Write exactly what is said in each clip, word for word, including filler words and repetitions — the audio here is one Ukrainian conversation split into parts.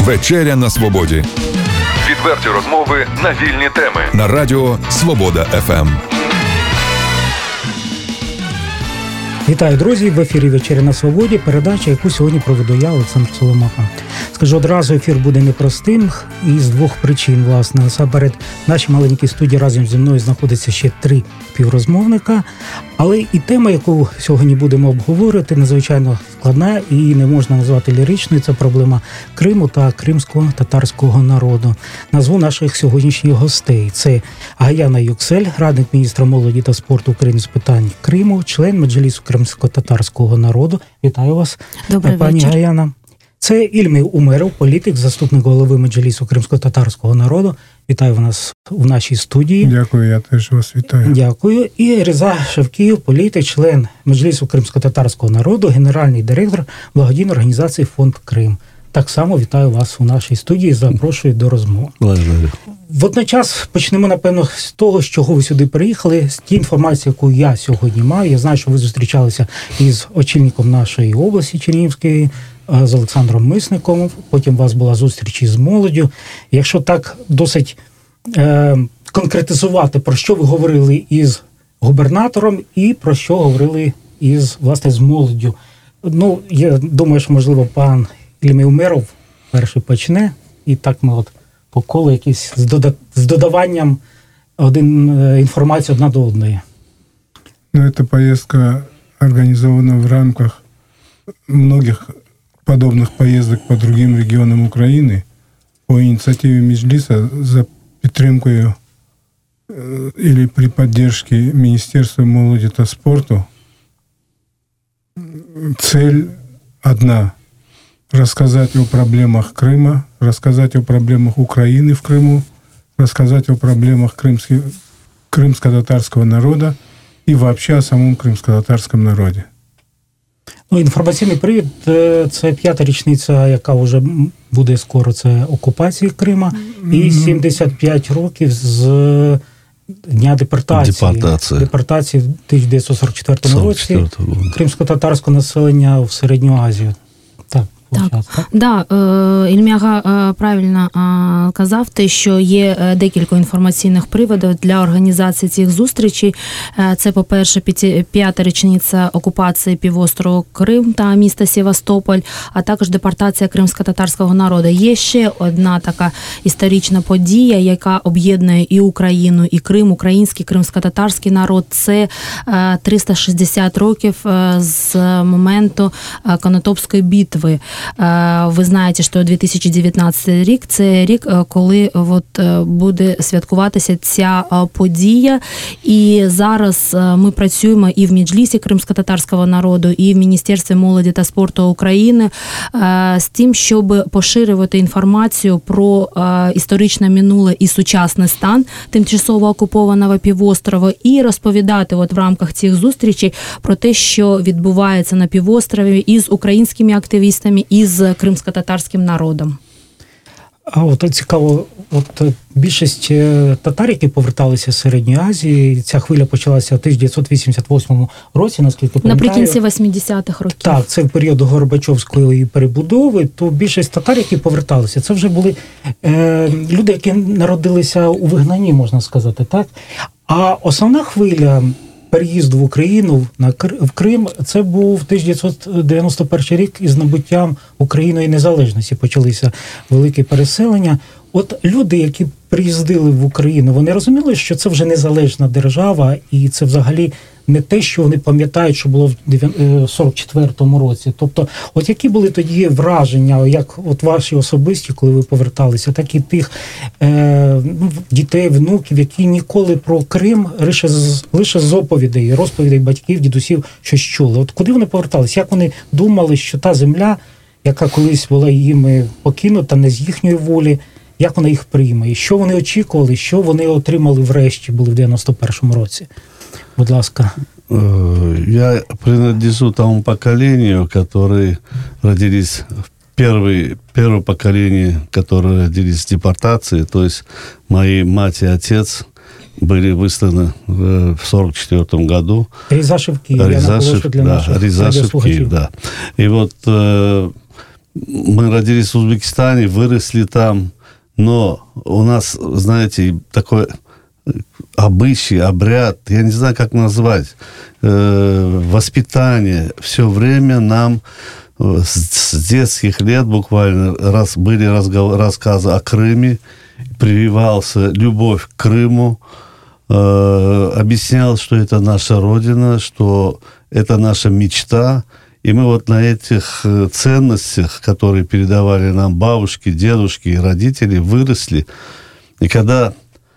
Вечеря на свободі. Відверті розмови на вільні теми. На радіо Свобода еф ем. Вітаю, друзі! В ефірі «Вечеря на свободі», передача, яку сьогодні проведу я, Олександр Соломаха. Скажу одразу, ефір буде непростим і з двох причин, власне. Насамперед, в нашій маленькій студії разом зі мною знаходиться ще три співрозмовника, але і тема, яку сьогодні будемо обговорювати, надзвичайно складна і не можна назвати ліричною. Це проблема Криму та кримського татарського народу. Назву наших сьогоднішніх гостей. Це Гаяна Юксель, радник міністра молоді та спорту України з питань Криму, член Меджлісу кримсько-татарського народу. Вітаю вас, Добрий пані вечір. Гаяна. Це Ільмі Умеров, політик, заступник голови Меджлісу кримсько-татарського народу. Вітаю вас у нашій студії. Дякую, я теж вас вітаю. Дякую. І Реза Шевкіїв, політик, член Меджлісу кримсько-татарського народу, генеральний директор благодійної організації «Фонд Крим». Так само вітаю вас у нашій студії, запрошую до розмови. Водночас почнемо, напевно, з того, з чого ви сюди приїхали, з тієї інформації, яку я сьогодні маю. Я знаю, що ви зустрічалися із очільником нашої області Чернігівської, з Олександром Мисником, потім у вас була зустріч із молоддю. Якщо так досить е, конкретизувати, про що ви говорили із губернатором і про що говорили із, власне, з молоддю. Ну, я думаю, що, можливо, пан Ільмі Умеров перший почне, і так ми от по колу якісь з, дода- з додаванням один, е, інформації одна до одної. Ну, эта поездка организована в рамках многих подобных поездок по другим регионам Украины по инициативе Меджлиса за підтримкою э, или при поддержке Министерства молоді та спорту. Цель одна – рассказать о проблемах Крыма, рассказать о проблемах Украины в Крыму, рассказать о проблемах крымских, крымско-татарского народа и вообще о самом крымско-татарском народе. Ну, інформаційний привід – це п'ята річниця, яка вже буде скоро, це окупації Крима, і сімдесят п'ять років з дня депортації. Депортація. Депортації в тисяча дев'ятсот сорок четвертому році кримсько-татарського населення в Середню Азію. Так. Так, так? Да, Ільмяга правильно казав те, що є декілька інформаційних приводів для організації цих зустрічей. Це, по-перше, п'ята річниця окупації півострову Крим та міста Севастополь, а також депортація кримсько-татарського народу. Є ще одна така історична подія, яка об'єднує і Україну, і Крим, український, кримсько-татарський народ. Це триста шістдесят років з моменту Конотопської битви. Ви знаєте, що дві тисячі дев'ятнадцятий рік – це рік, коли от буде святкуватися ця подія. І зараз ми працюємо і в Меджлісі кримсько-татарського народу, і в Міністерстві молоді та спорту України з тим, щоб поширювати інформацію про історичне минуле і сучасний стан тимчасово окупованого півострова і розповідати от в рамках цих зустрічей про те, що відбувається на півострові із українськими активістами, і з кримсько-татарським народом. А от цікаво, от більшість татар, які поверталися з Середньої Азії, ця хвиля почалася в тисяча дев'ятсот вісімдесят восьмому році, наскільки пам'ятаю. Наприкінці восьмидесятих років. Так, це в період Горбачовської перебудови, то більшість татар, які поверталися, це вже були е, люди, які народилися у вигнанні, можна сказати, так? А основна хвиля переїзду в Україну, на в Крим, це був тисяча дев'ятсот дев'яносто перший рік із набуттям Україною незалежності. Почалися великі переселення. От люди, які приїздили в Україну, вони розуміли, що це вже незалежна держава, і це взагалі не те, що вони пам'ятають, що було в сорок четвертому році. Тобто, от які були тоді враження, як от ваші особисті, коли ви поверталися, так і тих е, дітей, внуків, які ніколи про Крим лише з, лише з оповідей, розповідей батьків, дідусів щось чули. От куди вони поверталися? Як вони думали, що та земля, яка колись була їм покинута не з їхньої волі, як вона їх прийме? І що вони очікували, що вони отримали врешті, були в дев'яносто першому році? Будь ласка. Я принадлежу тому поколению, которые родились в первый, первое поколение, которые родились в депортации, то есть мои мать и отец были высланы в сорок четвертом году. Реза Шевкиев, Реза Шев... для да, наших Реза Шевкиев, да. И вот э, мы родились в Узбекистане, выросли там, но у нас, знаете, такой обычай, обряд, я не знаю, как назвать, э, воспитание. Все время нам с, с детских лет буквально раз, были разгов, рассказы о Крыме, прививался любовь к Крыму, э, объяснял, что это наша родина, что это наша мечта. И мы вот на этих ценностях, которые передавали нам бабушки, дедушки и родители, выросли. И когда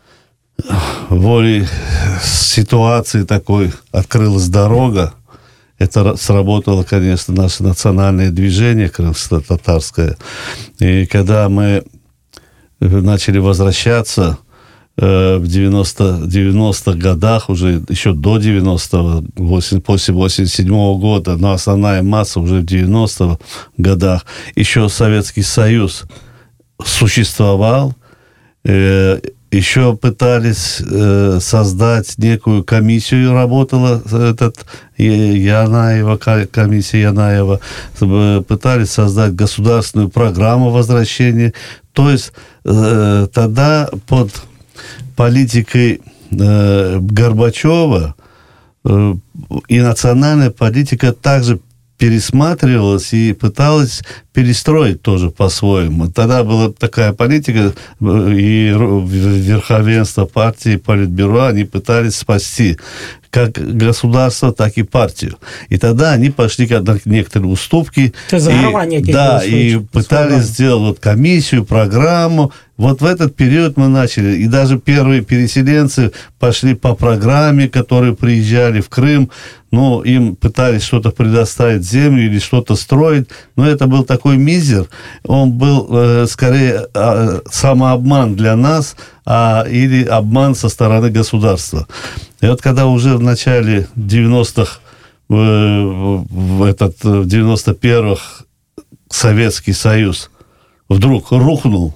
волей ситуации такой открылась дорога, это сработало, конечно, наше национальное движение крымско-татарское. И когда мы начали возвращаться в девяностых годах, уже еще до девяностого, после восемьдесят седьмого года, но основная масса уже в девяностых годах, еще Советский Союз существовал, э, еще пытались э, создать некую комиссию, работала этот Янаева, комиссия Янаева, пытались создать государственную программу возвращения. То есть э, тогда под политикой э, Горбачева э, и национальная политика также пересматривалась и пыталась перестроить тоже по-своему. Тогда была такая политика, и верховенство партии, политбюро, они пытались спасти как государство, так и партию. И тогда они пошли на некоторые уступки. И, да, и пытались сделать вот комиссию, программу. Вот в этот период мы начали. И даже первые переселенцы пошли по программе, которые приезжали в Крым. Ну, им пытались что-то предоставить, землю или что-то строить. Но это был такой мизер. Он был э, скорее э, самообман для нас, а, или обман со стороны государства. И вот когда уже в начале девяностых, э, в, этот, в девяносто первых Советский Союз вдруг рухнул,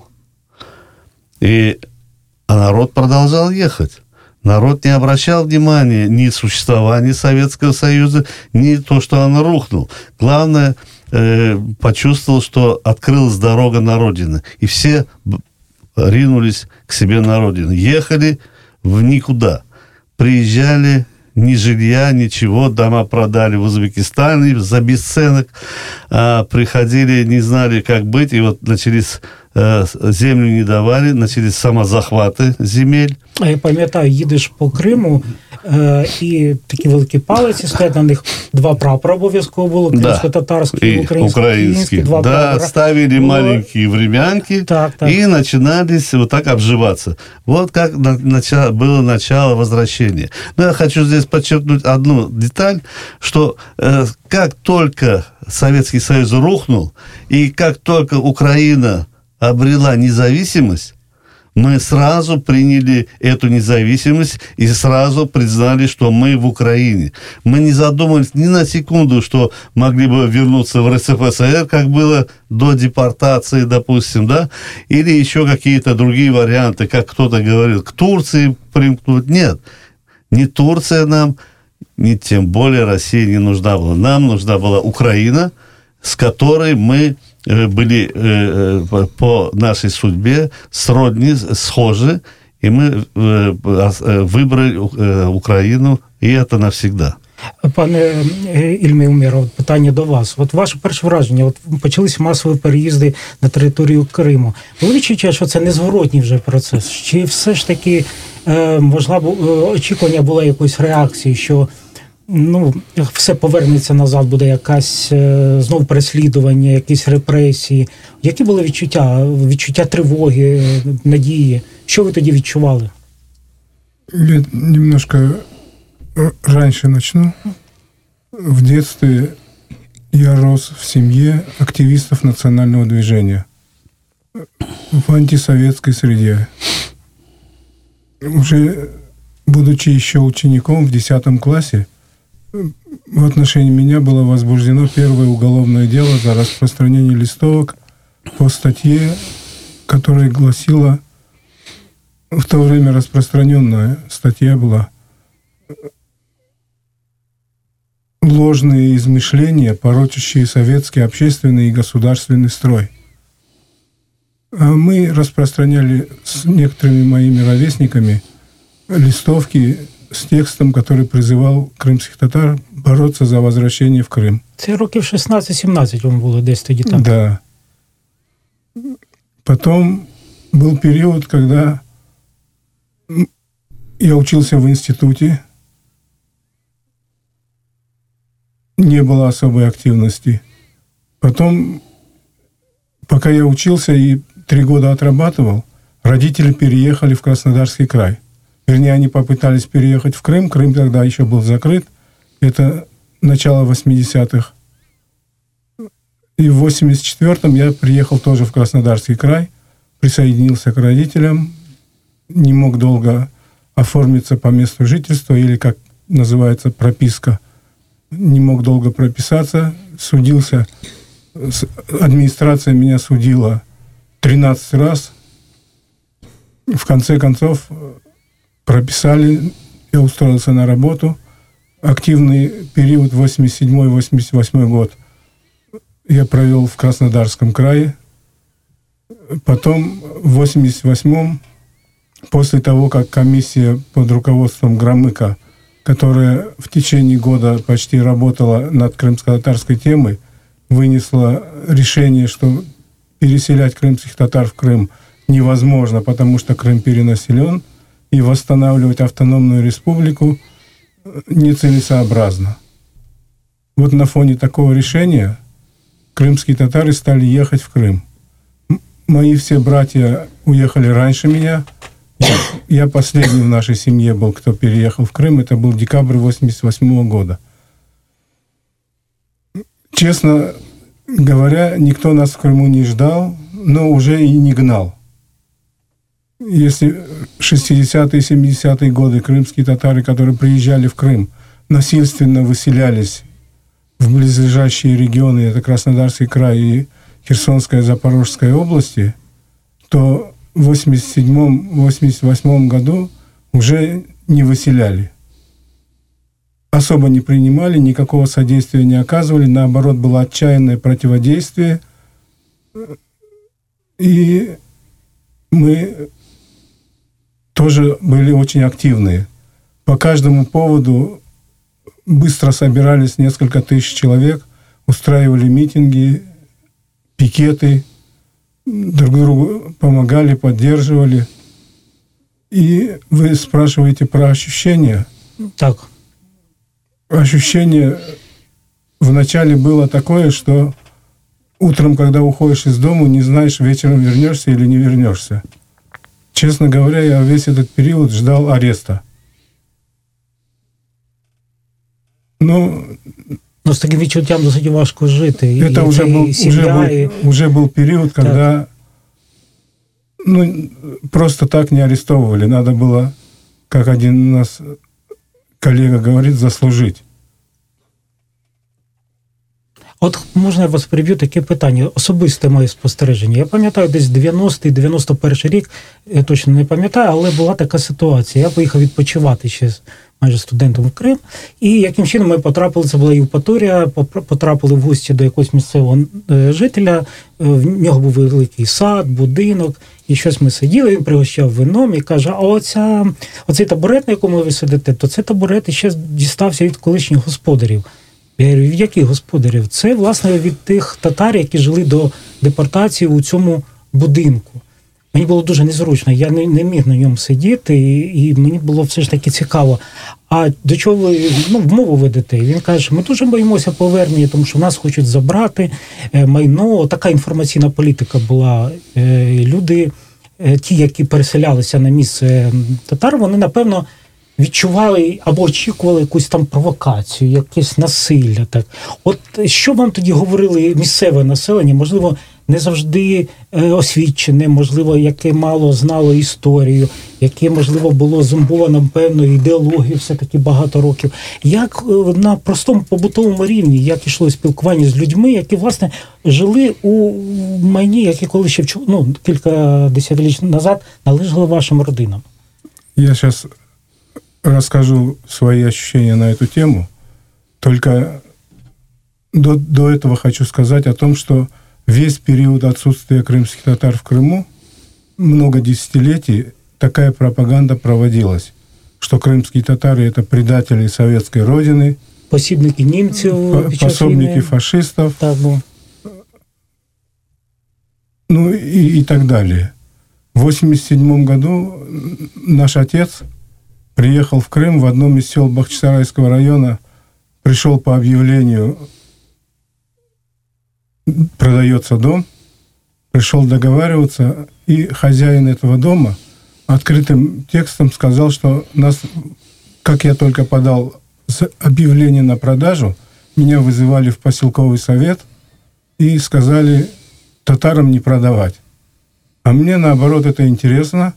и, а народ продолжал ехать. Народ не обращал внимания ни существования Советского Союза, ни то, что он рухнул. Главное, э, почувствовал, что открылась дорога на родину. И все ринулись к себе на родину. Ехали в никуда. Приезжали, ни жилья, ничего, дома продали в Узбекистане за бесценок. А приходили, не знали, как быть. И вот начались... землю не давали, начались самозахвати земель. А я пам'ятаю, їдеш по Криму, е, і такі великі палиці стоять, на них два прапора обов'язково було, кримсько-татарський і український. Два да, прапора. ставили было... маленькие времянки, так, так. И начинались вот так обживаться. Вот как на, начало, было начало возвращения. Но я хочу здесь подчеркнуть одну деталь, что э, как только Советский Союз рухнул, и как только Украина обрела независимость, мы сразу приняли эту независимость и сразу признали, что мы в Украине. Мы не задумались ни на секунду, что могли бы вернуться в РСФСР, как было до депортации, допустим, да, или еще какие-то другие варианты, как кто-то говорил, к Турции примкнуть. Нет, ни Турция нам, ни тем более Россия не нужна была. Нам нужна была Украина, с которой мы были э, по нашей судьбе сродни, схожи, и мы э, выбрали э, Україну, і це навсегда. Пане Ільмі Умєров, питання до вас. От ваше перше враження, от почалися масові переїзди на територію Криму. Ви відчуваєте, що це незворотній вже процес? Чи все ж таки, е, можливо, очікування було якоїсь реакції, що ну, все повернеться назад, буде якась е, знов переслідування, якісь репресії. Які були відчуття? Відчуття тривоги, надії? Що ви тоді відчували? Я немножко раньше начну. В детстве я рос в семье активистов национального движения в антисоветской среде. Уже будучи еще учеником в десятом классе, в отношении меня было возбуждено первое уголовное дело за распространение листовок по статье, которая гласила, в то время распространенная статья была ложные измышления, порочащие советский общественный и государственный строй. А мы распространяли с некоторыми моими ровесниками листовки с текстом, который призывал крымских татар бороться за возвращение в Крым. Це років шістнадцять-сімнадцять вам було десь тоді так. Да. Потом был период, когда я учился в институте, не было особой активности. Потом, пока я учился и три года отрабатывал, родители переехали в Краснодарский край. Вернее, они попытались переехать в Крым. Крым тогда еще был закрыт. Это начало восьмидесятых. И в восемьдесят четвёртом я приехал тоже в Краснодарский край, присоединился к родителям, не мог долго оформиться по месту жительства, или, как называется, прописка. Не мог долго прописаться, судился. Администрация меня судила тринадцать раз. В конце концов прописали, я устроился на работу. Активный период восемьдесят седьмой — восемьдесят восьмой год я провел в Краснодарском крае. Потом в восемьдесят восьмом, после того, как комиссия под руководством Громыка, которая в течение года почти работала над крымско-татарской темой, вынесла решение, что переселять крымских татар в Крым невозможно, потому что Крым перенаселен, и восстанавливать автономную республику нецелесообразно. Вот на фоне такого решения крымские татары стали ехать в Крым. Мои все братья уехали раньше меня. Я, я последний в нашей семье был, кто переехал в Крым. Это был декабрь восемьдесят восьмого года. Честно говоря, никто нас в Крыму не ждал, но уже и не гнал. Если в шестидесятые, семидесятые годы крымские татары, которые приезжали в Крым, насильственно выселялись в близлежащие регионы, это Краснодарский край и Херсонская, Запорожская области, то в восемьдесят седьмом — восемьдесят восьмом году уже не выселяли. Особо не принимали, никакого содействия не оказывали, наоборот, было отчаянное противодействие. И мы тоже были очень активные. По каждому поводу быстро собирались несколько тысяч человек, устраивали митинги, пикеты, друг другу помогали, поддерживали. И вы спрашиваете про ощущения? Так. Ощущение вначале было такое, что утром, когда уходишь из дома, не знаешь, вечером вернешься или не вернешься. Честно говоря, я весь этот период ждал ареста. Ну, ну з таким відчуттям досить важко жити. Это і уже, це, был, і сім'я, уже, был, і... уже был период, когда ну, просто так не арестовывали. Надо было, как один у нас коллега говорит, заслужить. От можна я вас переб'ю, таке питання, особисте моє спостереження. Я пам'ятаю, десь дев'яностий — дев'яносто перший рік, я точно не пам'ятаю, але була така ситуація. Я поїхав відпочивати ще майже студентом в Крим, і яким чином ми потрапили, це була Євпаторія, потрапили в гості до якогось місцевого жителя, в нього був великий сад, будинок, і щось ми сиділи, він пригощав вином і каже, а оця, оцей табурет, на якому ви сидите, то це табурет ще дістався від колишніх господарів. Я говорю, від яких господарів? Це, власне, від тих татар, які жили до депортації у цьому будинку. Мені було дуже незручно, я не, не міг на ньому сидіти, і, і мені було все ж таки цікаво. А до чого ви, ну, мову ведете? Він каже, ми дуже боїмося повернення, тому що нас хочуть забрати майно. Така інформаційна політика була. Люди, ті, які переселялися на місце татар, вони, напевно, відчували або очікували якусь там провокацію, якесь насилля. Так. От що вам тоді говорили місцеве населення, можливо, не завжди освічене, можливо, яке мало знало історію, яке, можливо, було зомбовано певною ідеологією все-таки багато років. Як на простому побутовому рівні, як йшло спілкування з людьми, які, власне, жили у майні, які коли ще ну, кілька десятиліть назад належали вашим родинам? Я зараз расскажу свои ощущения на эту тему. Только до, до этого хочу сказать о том, что весь период отсутствия крымских татар в Крыму, много десятилетий, такая пропаганда проводилась, что крымские татары – это предатели советской родины, посібники німців, пособники фашистов, так, ну. ну и, и так далее. В восемьдесят седьмом году наш отец приехал в Крым, в одном из сел Бахчисарайского района, пришел по объявлению, продается дом, пришел договариваться, и хозяин этого дома открытым текстом сказал, что нас, как я только подал объявление на продажу, меня вызывали в поселковый совет и сказали татарам не продавать. А мне, наоборот, это интересно.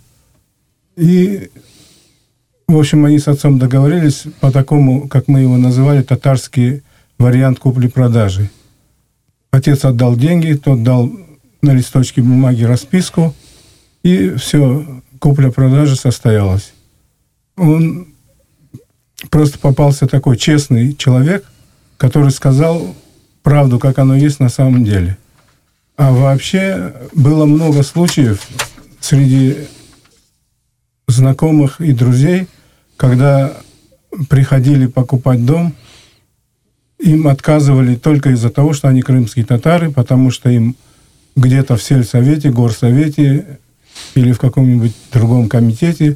И, в общем, они с отцом договорились по такому, как мы его называли, татарский вариант купли-продажи. Отец отдал деньги, тот дал на листочке бумаги расписку, и все, купля-продажа состоялась. Он просто попался такой честный человек, который сказал правду, как оно есть на самом деле. А вообще было много случаев среди знакомых и друзей, когда приходили покупать дом, им отказывали только из-за того, что они крымские татары, потому что им где-то в сельсовете, горсовете или в каком-нибудь другом комитете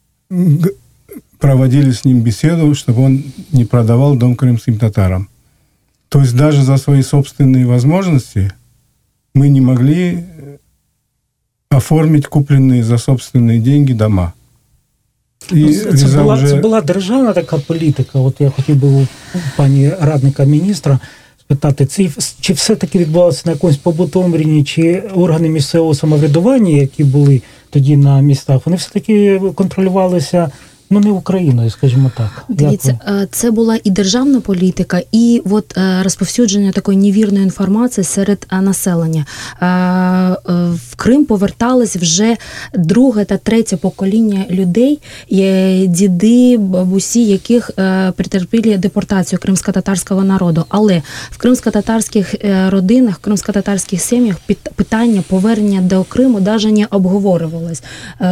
проводили с ним беседу, чтобы он не продавал дом крымским татарам. То есть даже за свои собственные возможности мы не могли оформить купленные за собственные деньги дома. І це, це, була, вже... це була державна така політика. От я хотів би у пані радника міністра спитати, чи, чи все-таки відбувалося на якомусь побутовому рівні, чи органи місцевого самоврядування, які були тоді на містах, вони все-таки контролювалися, ну, не Україною, скажімо так. Дивіться, це була і державна політика, і от розповсюдження такої невірної інформації серед населення. В Крим повертались вже друге та третє покоління людей, діди, бабусі, яких претерпіли депортацію кримсько-татарського народу. Але в кримсько-татарських родинах, в кримсько-татарських сім'ях питання повернення до Криму навіть не обговорювалось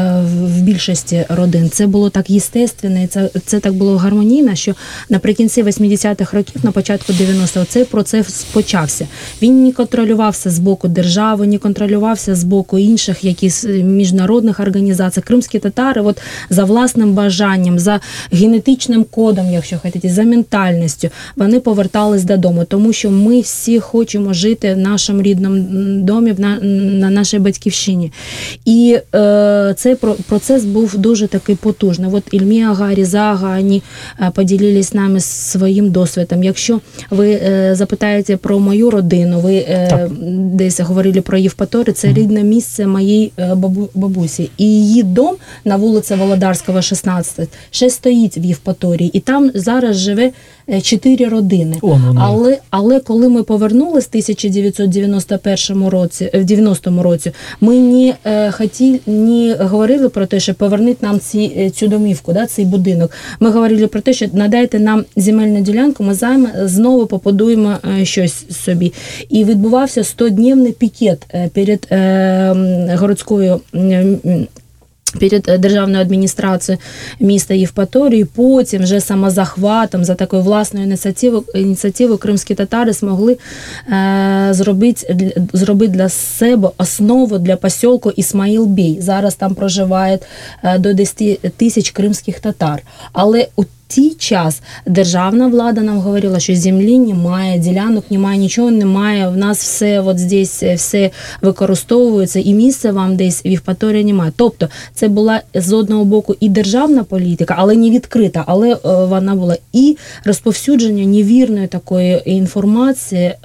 в більшості родин. Це було так естественно, і це, це так було гармонійно, що наприкінці вісімдесятих років, на початку дев'яностих, цей процес почався. Він не контролювався з боку держави, не контролювався з боку інших якісь міжнародних організацій. Кримські татари от, за власним бажанням, за генетичним кодом, якщо хочете, за ментальністю, вони повертались додому, тому що ми всі хочемо жити в нашому рідному домі, на, на нашій батьківщині. І е, цей процес був дуже такий потужний. От Ільмі Ага, Різа Ага, вони поділились з нами своїм досвідом. Якщо ви запитаєте про мою родину, ви так. десь говорили про Євпаторію, це рідне місце моєї бабу, бабусі. І її дом на вулиці Володарського, шістнадцять, ще стоїть в Євпаторії. І там зараз живе чотири родини. О, ну, але, але коли ми повернулись в тисяча дев'ятсот дев'яносто першому році, в дев'яностому році, ми не, е, хотіли, не говорили про те, що поверніть нам ці, цю домівку, да, цей будинок. Ми говорили про те, що надайте нам земельну ділянку, ми займе, знову побудуємо е, щось собі. І відбувався стодневний пікет е, перед е, городською е, перед державною адміністрацією міста Євпаторії, потім вже самозахватом, за такою власною ініціативою, ініціативою кримські татари змогли е, зробити, зробити для себе основу для посілку Ісмаїл-Бей. Зараз там проживає е, до десять тисяч кримських татар. Але у ті час державна влада нам говорила, що землі немає, ділянок немає, нічого немає, в нас все от здесь все використовується, і місця вам десь в Євпаторії немає. Тобто це була з одного боку і державна політика, але не відкрита, але е, вона була і розповсюдження невірної такої інформації е,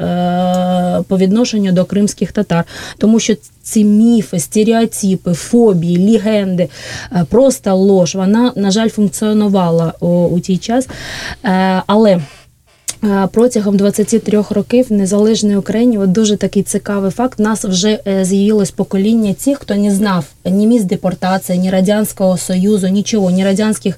по відношенню до кримських татар. Тому що ці міфи, стереотипи, фобії, легенди, просто лож, вона, на жаль, функціонувала у, у той час. Але Протягом двадцять три років в незалежній Україні, от дуже такий цікавий факт, в нас вже з'явилось покоління тих, хто не знав ні місць депортації, ні Радянського Союзу, нічого, ні радянських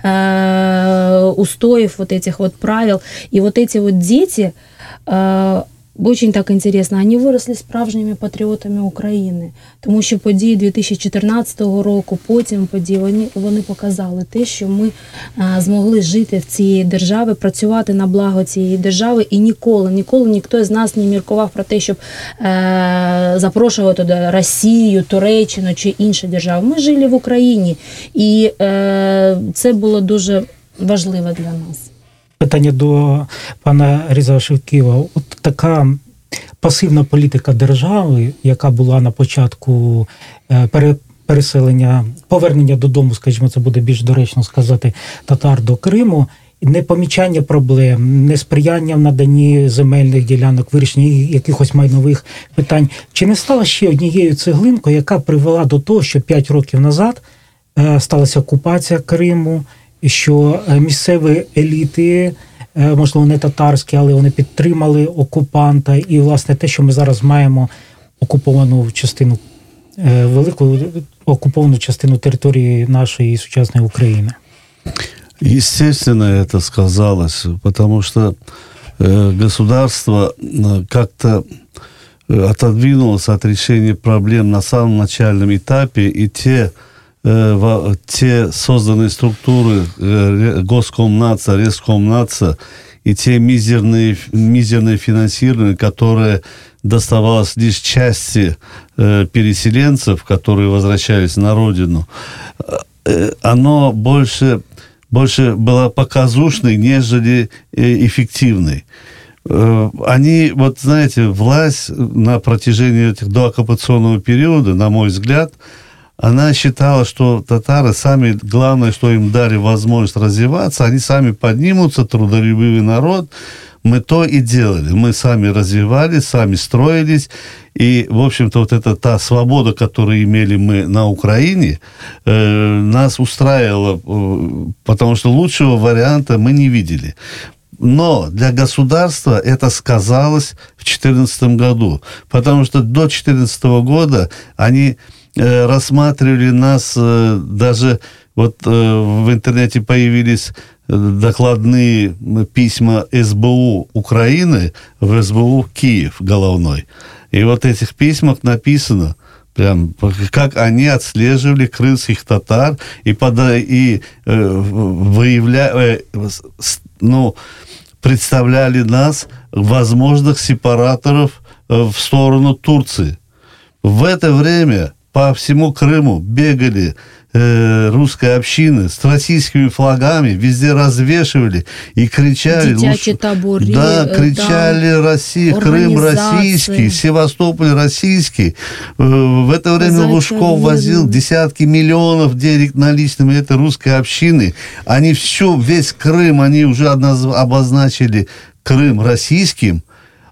э, устоїв, вот этих вот правил. І вот эти вот дети, э, очень так інтересно, вони виросли справжніми патріотами України, тому що події дві тисячі чотирнадцятого року, потім події, вони, вони показали те, що ми а, змогли жити в цій державі, працювати на благо цієї держави, і ніколи, ніколи ніхто з нас не міркував про те, щоб е, запрошувати туди Росію, Туреччину чи інші держави. Ми жили в Україні, і е, це було дуже важливо для нас. Питання до пана Різа Шевківа. От така пасивна політика держави, яка була на початку переселення, повернення додому, скажімо, це буде більш доречно сказати, татар до Криму, непомічання проблем, несприяння в наданні земельних ділянок, вирішення якихось майнових питань. Чи не стала ще однією цеглинкою, яка привела до того, що п'ять років назад сталася окупація Криму, що місцеві еліти, можливо, не татарські, але вони підтримали окупанта, і, власне, те, що ми зараз маємо окуповану частину, велику окуповану частину території нашої сучасної України? Естественно, это сказалось, потому что э, государство как-то отодвинулось от решения проблем на самом начальном этапе, и те те созданные структуры Госкомнадза, Рескомнадза и те мизерные, мизерные финансирования, которые доставалось лишь части э, переселенцев, которые возвращались на родину, э, оно больше, больше было показушной, нежели э, эффективной. Э, они, вот знаете, власть на протяжении этих дооккупационного периода, на мой взгляд, она считала, что татары сами, главное, что им дали возможность развиваться, они сами поднимутся, трудолюбивый народ. Мы то и делали. Мы сами развивались, сами строились. И, в общем-то, вот эта та свобода, которую имели мы на Украине, э, нас устраивала, э, потому что лучшего варианта мы не видели. Но для государства это сказалось в две тысячи четырнадцатом году, потому что до две тысячи четырнадцатого года они э, рассматривали нас, э, даже вот э, в интернете появились докладные письма эс бэ у Украины в эс бэ у Киев головной. И вот в этих письмах написано, прям, как они отслеживали крымских татар и, пода, и э, выявляли, э, ну, представляли нас, возможных сепараторов, э, в сторону Турции. В это время по всему Крыму бегали э, русской общины с российскими флагами, везде развешивали и кричали. Дитячие таборы. Да, кричали да, Россия, Крым российский, Севастополь российский. Э, в это время Зачем Лужков возил десятки миллионов денег наличными этой русской общины. Они всю, весь Крым, они уже обозначили Крым российским.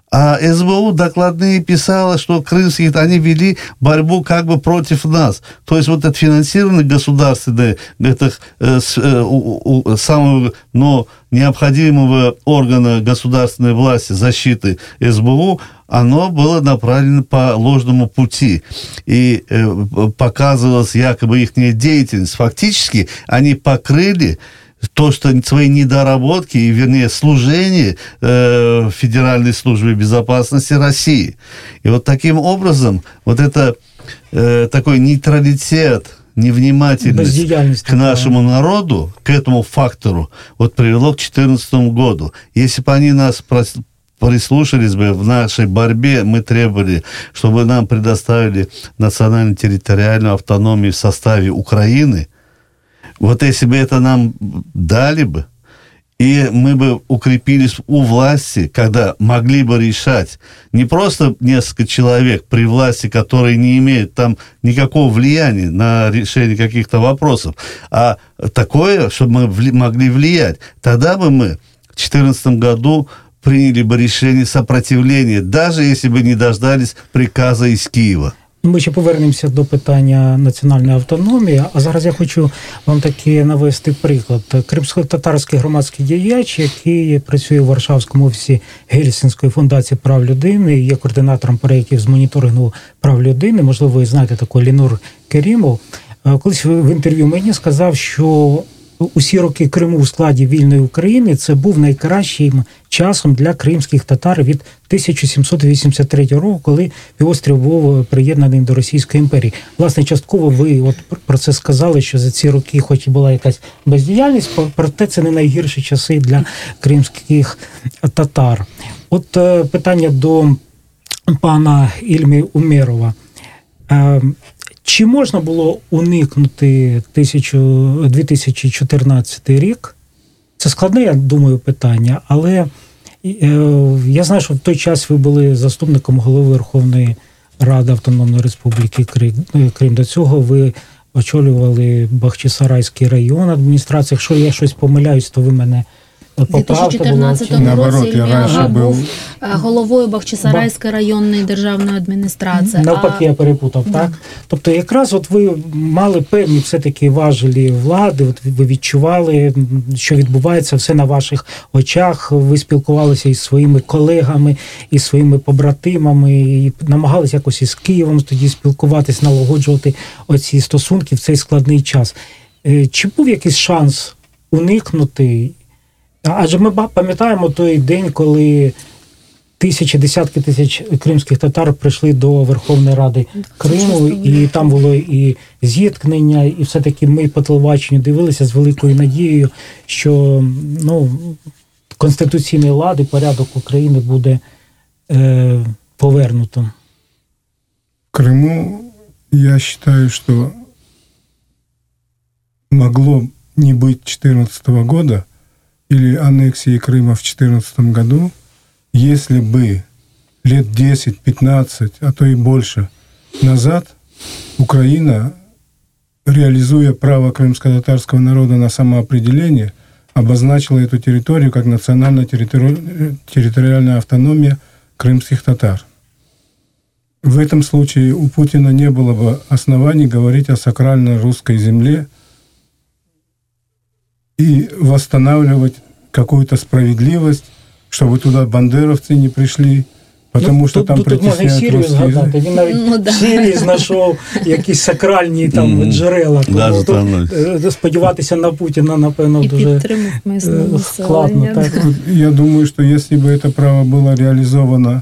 А эс бэ у докладные писала, что крымские, они вели борьбу как бы против нас. То есть вот это финансирование государственное, этих, э, э, у, у, самого ну, необходимого органа государственной власти защиты эс бэ у, оно было направлено по ложному пути. И э, показывалась якобы их деятельность. Фактически они покрыли то, что свои недоработки, и, вернее, служение э, Федеральной службе безопасности России. И вот таким образом вот это э, такой нейтралитет, невнимательность к нашему народу, к этому фактору, вот привело к две тысячи четырнадцатому году. Если бы они нас прислушались бы в нашей борьбе, мы требовали, чтобы нам предоставили национально-территориальную автономию в составе Украины. Вот если бы это нам дали бы, и мы бы укрепились у власти, когда могли бы решать не просто несколько человек при власти, которые не имеют там никакого влияния на решение каких-то вопросов, а такое, чтобы мы могли влиять, тогда бы мы в две тысячи четырнадцатом году приняли бы решение сопротивления, даже если бы не дождались приказа из Киева. Ми ще повернемося до питання національної автономії, а зараз я хочу вам таки навести приклад. Кримсько-татарський громадський діяч, який працює у Варшавському офісі Гельсінської фундації прав людини, є координатором проєктів з моніторингу прав людини, можливо, ви знаєте такого Лінур Керімов, колись в інтерв'ю мені сказав, що усі роки Криму у складі вільної України це був найкращим часом для кримських татар від тисяча сімсот вісімдесят третього року, коли півострів був приєднаний до Російської імперії. Власне, частково ви от про це сказали, що за ці роки хоч і була якась бездіяльність, проте це не найгірші часи для кримських татар. От питання до пана Ільмі Умєрова. Чи можна було уникнути дві тисячі чотирнадцятий рік? Це складне, я думаю, питання, але я знаю, що в той час ви були заступником голови Верховної Ради Автономної Республіки Крим. До цього ви очолювали Бахчисарайський район адміністрації. Якщо я щось помиляюсь, то ви мене У дві тисячі чотирнадцятому році Ільмі був головою Бахчисарайської районної державної адміністрації. Навпаки, а... я перепутав, да. Так? Тобто якраз от ви мали певні все-таки важелі влади, от ви відчували, що відбувається все на ваших очах, ви спілкувалися із своїми колегами, із своїми побратимами, і намагалися якось із Києвом тоді спілкуватись, налагоджувати оці стосунки в цей складний час. Чи був якийсь шанс уникнути? Адже ми пам'ятаємо той день, коли тисячі, десятки тисяч кримських татар прийшли до Верховної Ради Криму, і там було і зіткнення, і все-таки ми по телебаченню дивилися з великою надією, що ну, конституційний лад і порядок України буде е, повернуто. В Крыму я считаю, что могло не быть две тысячи четырнадцатого года или аннексии Крыма в две тысячи четырнадцатом году, если бы лет десять-пятнадцать, а то и больше назад Украина, реализуя право крымско-татарского народа на самоопределение, обозначила эту территорию как национально-территориальная автономия крымских татар. В этом случае у Путина не было бы оснований говорить о сакральной русской земле и восстанавливать какую-то справедливость, чтобы туда бандеровцы не пришли, потому ну, що тут, там тут, притісняють тут можна і Сирію згадати. Він навіть ну, да. в Сирії знайшов якісь сакральні там mm, джерела. Тому тут сподіватися на Путіна, напевно, і дуже складно. Так. Я думаю, что если бы это право было реализовано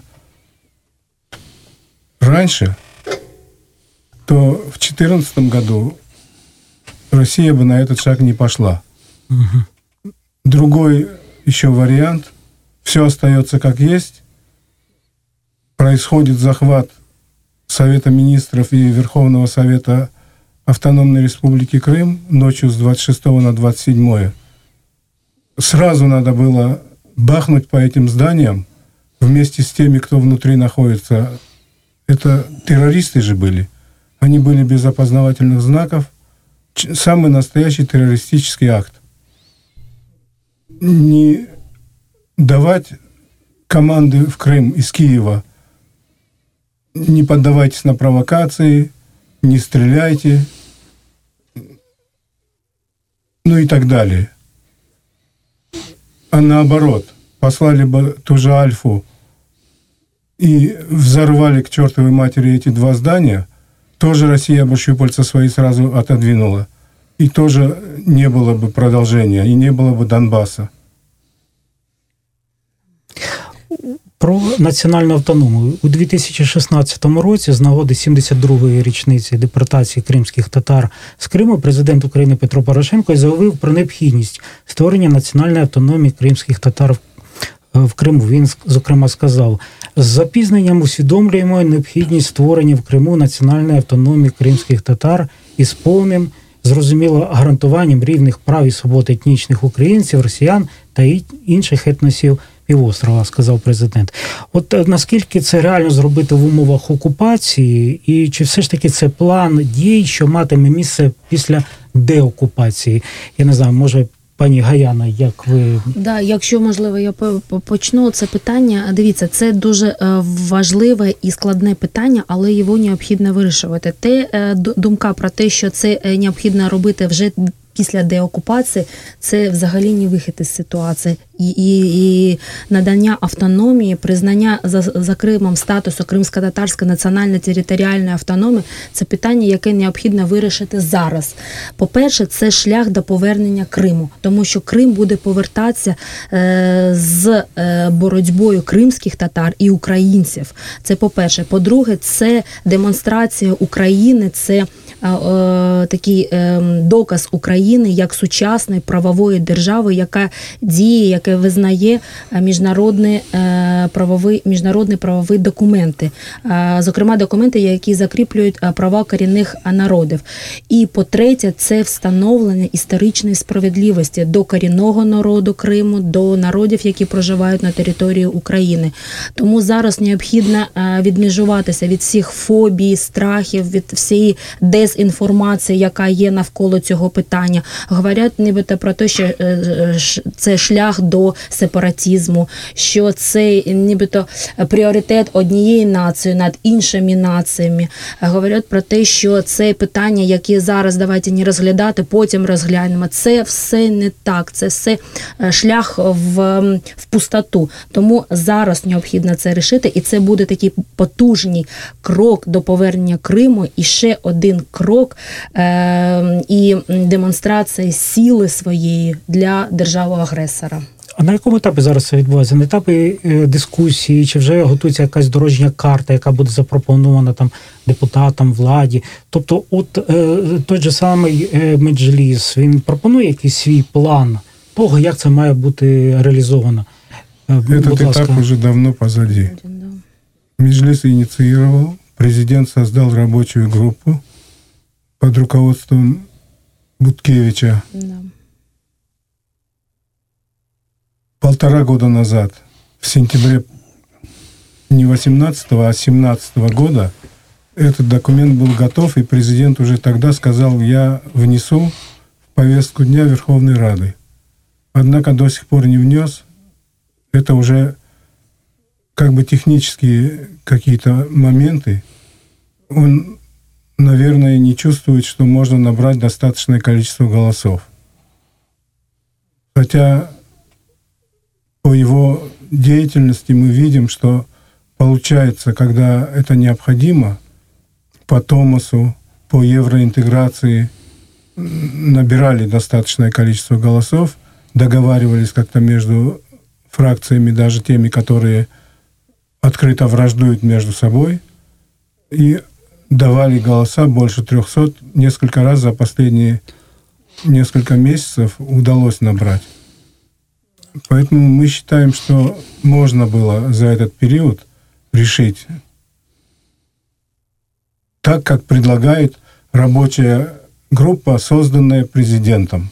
раньше, то в две тысячи четырнадцатом году Россия бы на этот шаг не пошла. Угу. Другой еще вариант. Все остается как есть. Происходит захват Совета министров и Верховного Совета Автономной Республики Крым ночью с двадцать шестого на двадцать седьмое. Сразу надо было бахнуть по этим зданиям вместе с теми, кто внутри находится. Это террористы же были. Они были без опознавательных знаков. Самый настоящий террористический акт. Не давать команды в Крым из Киева. Не поддавайтесь на провокации, не стреляйте, ну и так далее. А наоборот, послали бы ту же Альфу и взорвали к чертовой матери эти два здания, тоже Россия бы щупальца свои сразу отодвинула. И тоже не было бы продолжения, и не было бы Донбасса. Про національну автономію. У дві тисячі шістнадцятому році з нагоди сімдесят другої річниці депортації кримських татар з Криму президент України Петро Порошенко заявив про необхідність створення національної автономії кримських татар в Криму. Він, зокрема, сказав: з запізненням усвідомлюємо необхідність створення в Криму національної автономії кримських татар із повним, зрозуміло, гарантуванням рівних прав і свобод етнічних українців, росіян та інших етносів півострова, сказав президент. От наскільки це реально зробити в умовах окупації, і чи все ж таки це план дій, що матиме місце після деокупації? Я не знаю, може Пані Гаяна, як ви... Да, якщо, можливо, я почну це питання. Дивіться, це дуже важливе і складне питання, але його необхідно вирішувати. Те, думка про те, що це необхідно робити вже після деокупації, це взагалі не вихід із ситуації. І, і, і надання автономії, признання за, за Кримом статусу Кримсько-татарської національно-територіальної автономії – це питання, яке необхідно вирішити зараз. По-перше, це шлях до повернення Криму, тому що Крим буде повертатися е, з е, боротьбою кримських татар і українців. Це по-перше. По-друге, це демонстрація України, це е, е, такий е, доказ України як сучасної правової держави, яка діє, яка яке визнає міжнародні правові, міжнародні правові документи, зокрема документи, які закріплюють права корінних народів. І по-третє, це встановлення історичної справедливості до корінного народу Криму, до народів, які проживають на території України. тому зараз необхідно відмежуватися від всіх фобій, страхів, від всієї дезінформації, яка є навколо цього питання. Говорять нібито про те, що це шлях до сепаратизму, що це нібито пріоритет однієї нації над іншими націями. Говорять про те, що це питання, які зараз давайте не розглядати, потім розглянемо. Це все не так, це все шлях в, в пустоту. Тому зараз необхідно це рішити, і це буде такий потужний крок до повернення Криму, і ще один крок е- і демонстрація сили своєї для держави-агресора. А на якому етапі зараз це відбувається? На етапі е, дискусії, чи вже готується якась дорожня карта, яка буде запропонована там депутатам, владі? Тобто от е, той же самий е, Меджліс, він пропонує якийсь свій план того, як це має бути реалізовано? Е, Этот этап уже давно позади. Меджлис инициировал, президент создал рабочую группу под руководством Буткевича. Да. Полтора года назад, в сентябре не восемнадцатого, а семнадцатого года, этот документ был готов, и президент уже тогда сказал, я внесу в повестку дня Верховной Рады. Однако до сих пор не внес. Это уже как бы технические какие-то моменты. Он, наверное, не чувствует, что можно набрать достаточное количество голосов. Хотя по его деятельности мы видим, что получается, когда это необходимо, по Томасу, по евроинтеграции набирали достаточное количество голосов, договаривались как-то между фракциями, даже теми, которые открыто враждуют между собой, и давали голоса больше трехсот. Несколько раз за последние несколько месяцев удалось набрать. Поэтому мы считаем, что можно было за этот период решить так, как предлагает рабочая группа, созданная президентом.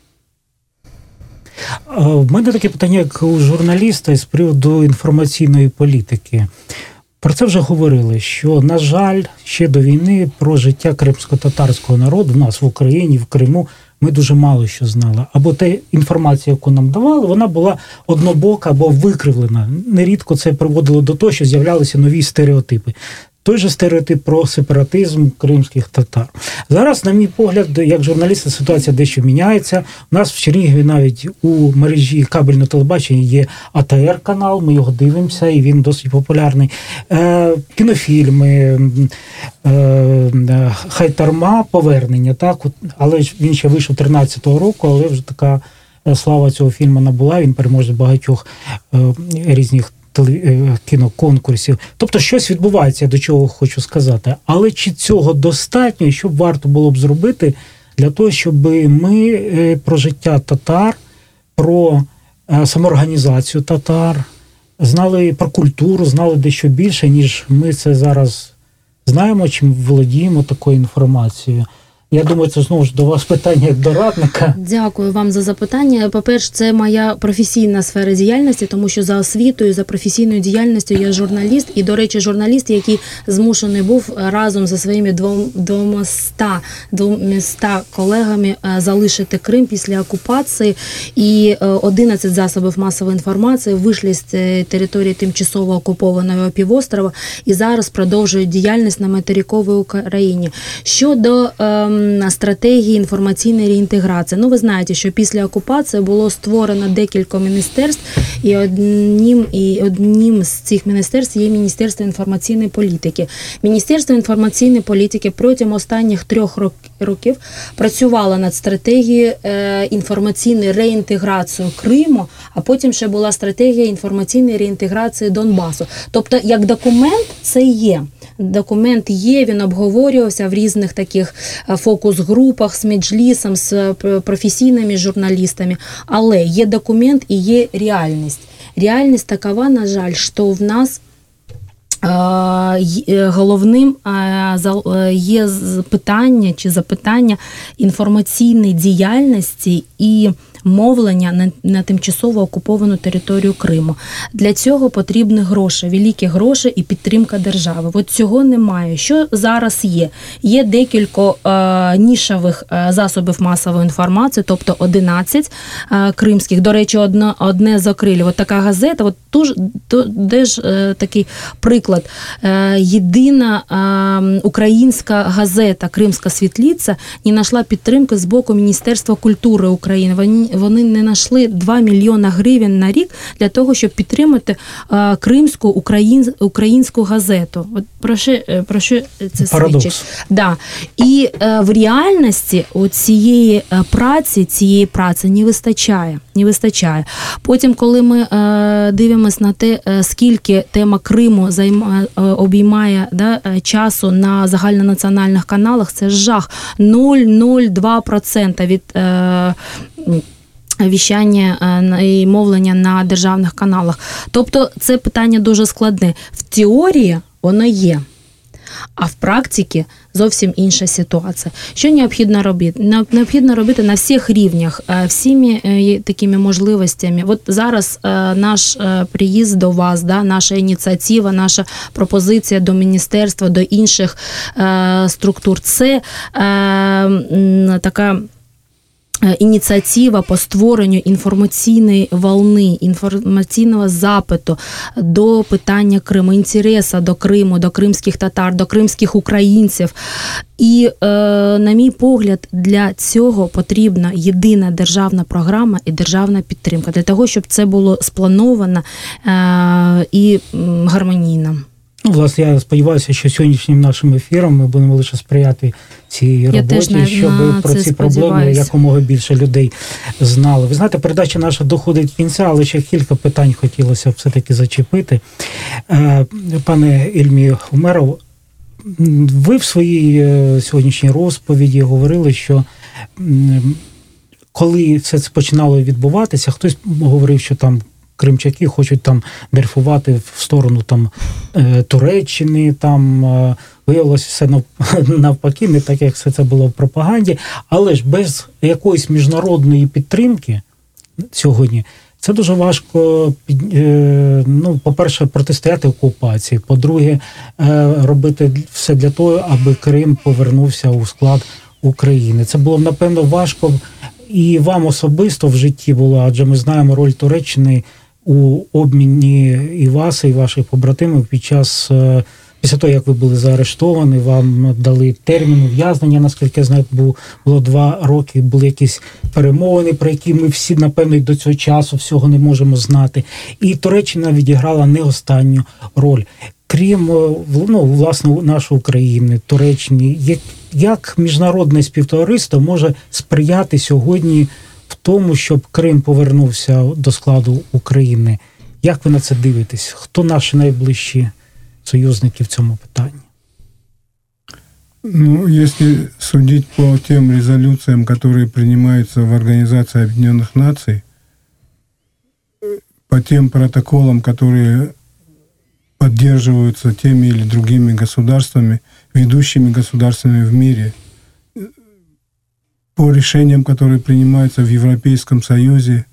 В мене таке питання, як у журналіста, з приводу інформаційної політики. Про це вже говорили, що, на жаль, ще до війни про життя кримсько-татарського народу в нас в Україні, в Криму, ми дуже мало що знали. Або та інформація, яку нам давали, вона була однобока або викривлена. Нерідко це приводило до того, що з'являлися нові стереотипи. Той же стереотип про сепаратизм кримських татар. Зараз, на мій погляд, як журналіста, ситуація дещо міняється. У нас в Чернігові навіть у мережі кабельного телебачення є А Т Р-канал, ми його дивимося, і він досить популярний. Е, кінофільми, е, Хайтарма, повернення, так? Але він ще вийшов тринадцятого року, але вже така слава цього фільму набула, він переможець багатьох е, різних кіноконкурсів. Тобто щось відбувається, до чого хочу сказати. Але чи цього достатньо, і що б варто було б зробити для того, щоб ми про життя татар, про самоорганізацію татар, знали про культуру, знали дещо більше, ніж ми це зараз знаємо, чим володіємо такою інформацією. Я думаю, це знову ж до вас питання як до радника. Дякую вам за запитання. По-перше, це моя професійна сфера діяльності, тому що за освітою, за професійною діяльністю я журналіст. І, до речі, журналіст, який змушений був разом зі своїми двома двома колегами залишити Крим після окупації. І одинадцять засобів масової інформації вийшли з території тимчасово окупованого півострова і зараз продовжують діяльність на материковій Україні. Щодо стратегії інформаційної реінтеграції. Ну, ви знаєте, що після окупації було створено декілька міністерств, і одним, і одним з цих міністерств є Міністерство інформаційної політики. Міністерство інформаційної політики протягом останніх трьох років працювало над стратегією інформаційної реінтеграції Криму, а потім ще була стратегія інформаційної реінтеграції Донбасу. Тобто, як документ це є. Документ є, він обговорювався в різних таких фокус-групах з Меджлісом, з професійними журналістами, але є документ і є реальність. Реальність такова, на жаль, що в нас головним є питання чи запитання інформаційної діяльності і мовлення на, на тимчасово окуповану територію Криму. Для цього потрібні гроші, великі гроші і підтримка держави. От цього немає. Що зараз є? Є декілька е, нішових е, засобів масової інформації, тобто одинадцять е, кримських. До речі, одне, одне закрили. От така газета, от ту, ту, де ж е, такий приклад. Е, єдина е, українська газета «Кримська світлиця» не знайшла підтримки з боку Міністерства культури України. Вони Вони не знайшли два мільйони гривень на рік для того, щоб підтримати а, кримську україн, українську газету. От про що, про що це Парадокс. свідчить? Да. І а, в реальності у цієї праці, цієї праці не вистачає. Не вистачає. Потім, коли ми а, дивимося на те, скільки тема Криму займа, обіймає да, часу на загальнонаціональних каналах, це жах. нуль цілих нуль два відсотка від а, віщання і мовлення на державних каналах. Тобто це питання дуже складне. В теорії воно є, а в практиці зовсім інша ситуація. Що необхідно робити? Необхідно робити на всіх рівнях, всіми такими можливостями. От зараз наш приїзд до вас, да, наша ініціатива, наша пропозиція до міністерства, до інших структур – це така ініціатива по створенню інформаційної волни, інформаційного запиту до питання Криму, інтересу до Криму, до кримських татар, до кримських українців. І, е, на мій погляд, для цього потрібна єдина державна програма і державна підтримка, для того, щоб це було сплановано е, і гармонійно. Ну, власне, я сподіваюся, що сьогоднішнім нашим ефіром ми будемо лише сприяти цій роботі, щоб про ці проблеми якомога більше людей знали. Ви знаєте, передача наша доходить до кінця, але ще кілька питань хотілося все-таки зачепити. Пане Ільмі Умеров, ви в своїй сьогоднішній розповіді говорили, що коли все це починало відбуватися, хтось говорив, що там кримчаки хочуть там дрейфувати в сторону там Туреччини, там виявилося все навпаки, не так, як все це було в пропаганді, але ж без якоїсь міжнародної підтримки сьогодні це дуже важко, ну, по-перше, протистояти окупації, по-друге, робити все для того, аби Крим повернувся у склад України. Це було, напевно, важко і вам особисто в житті було, адже ми знаємо роль Туреччини у обміні і вас, і ваших побратимів під час, після того, як ви були заарештовані, вам дали термін ув'язнення, наскільки я знаю, було, було два роки, були якісь перемовини, про які ми всі, напевно, і до цього часу всього не можемо знати. І Туреччина відіграла не останню роль. Крім, ну, власне, нашої України, Туреччини, як, як міжнародне співтовариство може сприяти сьогодні в тому, щоб Крим повернувся до складу України? Як ви на це дивитесь? Хто наші найближчі союзники в цьому питанні? Ну, если судить по тем резолюциям, которые принимаются в Организации Объединенных Наций, по тем протоколам, которые поддерживаются теми или другими государствами, ведущими государствами в мире, по решениям, которые принимаются в Европейском Союзе,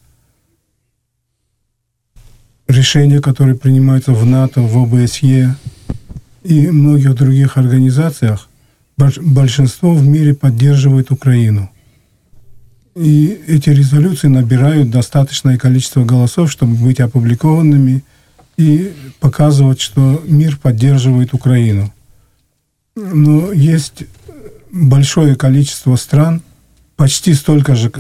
решения, которые принимаются в НАТО, в О Бэ С Е и многих других организациях, большинство в мире поддерживает Украину. И эти резолюции набирают достаточное количество голосов, чтобы быть опубликованными и показывать, что мир поддерживает Украину. Но есть большое количество стран, почти столько же,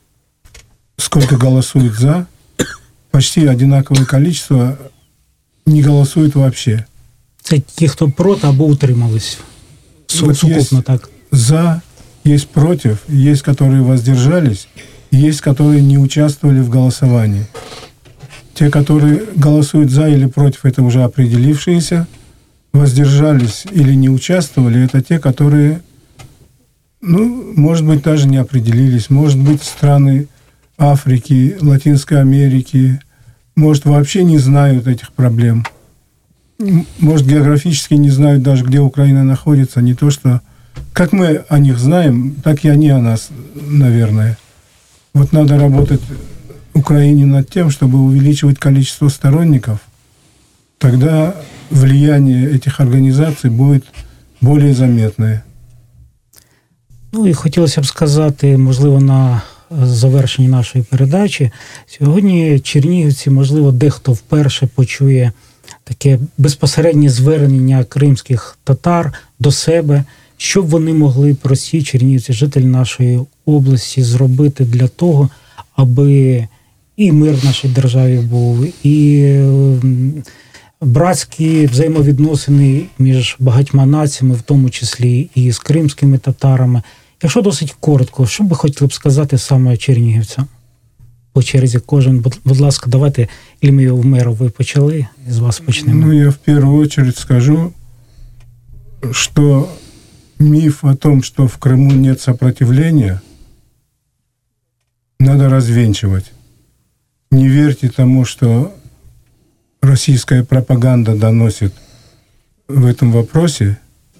сколько голосуют «за», почти одинаковое количество не голосуют вообще. Це ті, хто проти або утримались. Вот Сукупно так. «За», есть «против», есть, которые воздержались, есть, которые не участвовали в голосовании. Те, которые голосуют «за» или «против», это уже определившиеся. Воздержались или не участвовали, это те, которые, ну, может быть, даже не определились. Может быть, страны Африки, Латинской Америки, может, вообще не знают этих проблем. Может, географически не знают даже, где Украина находится. Не то, что... Как мы о них знаем, так и они о нас, наверное. Вот надо работать Украине над тем, чтобы увеличивать количество сторонников. Тогда влияние этих організацій буде більш заметне. Ну і хотілося б сказати, можливо, на завершенні нашої передачі, сьогодні чернігівці, можливо, дехто вперше почує таке безпосереднє звернення кримських татар до себе, що б вони могли, прості чернігівці, жителі нашої області, зробити для того, аби і мир в нашій державі був, і братські взаємовідносини між багатьма націями, в тому числі і з кримськими татарами. Якщо досить коротко, що би хотіли б сказати саме чернігівцям? По черзі кожен, будь, будь ласка, давайте, Ільмію Умеров, ви почали, з вас почнемо. Ну, я в первую очередь скажу, что миф о том, что в Крыму нет сопротивления, надо развенчивать. Не верьте тому, что российская пропаганда доносит в этом вопросе.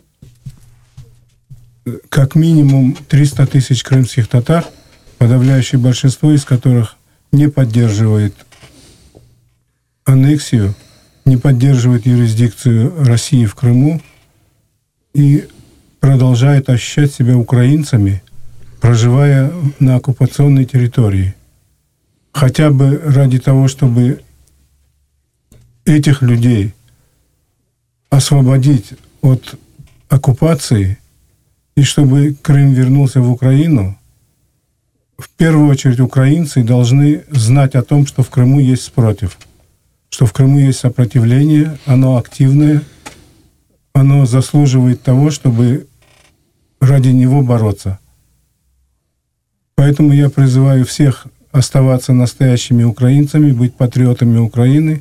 Как минимум триста тысяч крымских татар, подавляющее большинство из которых не поддерживает аннексию, не поддерживает юрисдикцию России в Крыму и продолжает ощущать себя украинцами, проживая на оккупационной территории. Хотя бы ради того, чтобы этих людей освободить от оккупации и чтобы Крым вернулся в Украину, в первую очередь украинцы должны знать о том, что в Крыму есть спротив, что в Крыму есть сопротивление, оно активное, оно заслуживает того, чтобы ради него бороться. Поэтому я призываю всех оставаться настоящими украинцами, быть патриотами Украины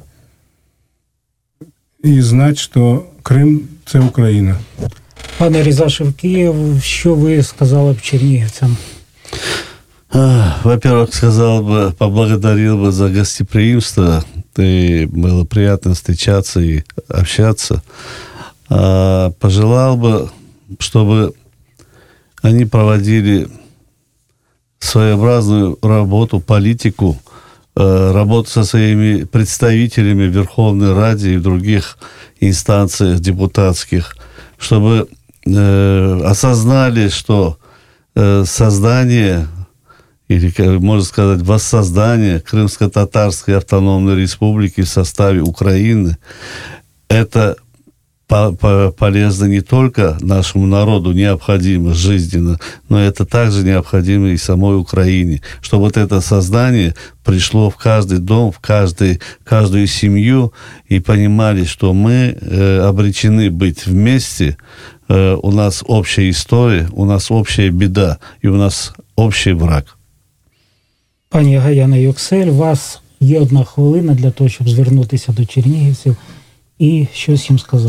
і знати, що Крим – це Україна. Пане Різашев, Київ, що ви сказали б чернігівцям? Во-первых, сказал бы, поблагодарил бы за гостеприимство. И было приятно встречаться и общаться. Пожелал бы, чтобы они проводили своеобразную работу, политику, работу со своими представителями в Верховной Раде и в других инстанциях депутатских, чтобы э, осознали, что э, создание, или, можно сказать, воссоздание Крымско-Татарской автономной республики в составе Украины, это полезно не только нашему народу, необходимо жизненно, но это также необходимо и самой Украине, чтобы вот это создание пришло в каждый дом, в каждый, каждую семью, и понимали, что мы э, обречены быть вместе, э, у нас общая история, у нас общая беда, и у нас общий враг. Пані Гаяна Юксель, у вас є одна хвилина для того, щоб звернутися до чернігівців і щось їм сказати.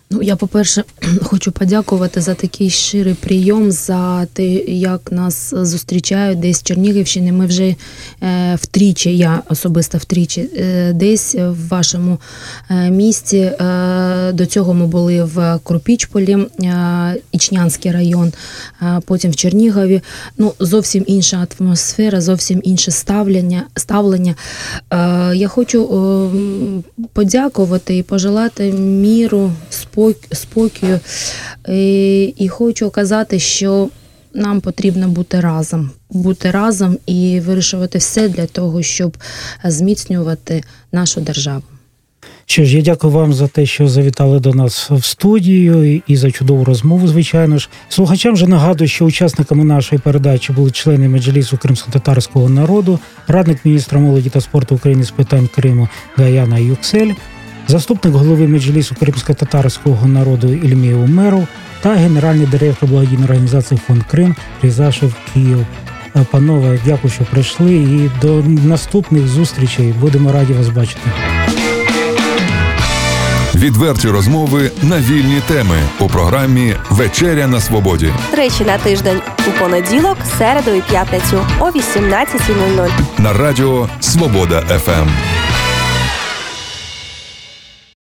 Ну, я, по-перше, хочу подякувати за такий щирий прийом, за те, як нас зустрічають десь в Чернігівщині. Ми вже е, втричі, я особисто втричі, е, десь в вашому е, місті. Е, до цього ми були в Крупічполі, е, Ічнянський район, е, потім в Чернігові. Ну, зовсім інша атмосфера, зовсім інше ставлення. ставлення. Е, я хочу е, подякувати і пожелати міру, спокою. І, і хочу казати, що нам потрібно бути разом. Бути разом і вирішувати все для того, щоб зміцнювати нашу державу. Що ж, я дякую вам за те, що завітали до нас в студію і за чудову розмову, звичайно ж. Слухачам же нагадую, що учасниками нашої передачі були члени Меджлісу кримськотатарського народу, радник міністра молоді та спорту України з питань Криму Гаяна Юксель, заступник голови Меджлісу кримськотатарського народу Ільмій Умеров та генеральний директор благодійної організації «Фонд Крим» Різашев Київ. Панове, дякую, що прийшли, і до наступних зустрічей. Будемо раді вас бачити. Відверті розмови на вільні теми у програмі «Вечеря на свободі». Тричі на тиждень у понеділок, середу і п'ятницю о вісімнадцятій нуль нуль. На радіо «Свобода еф ем».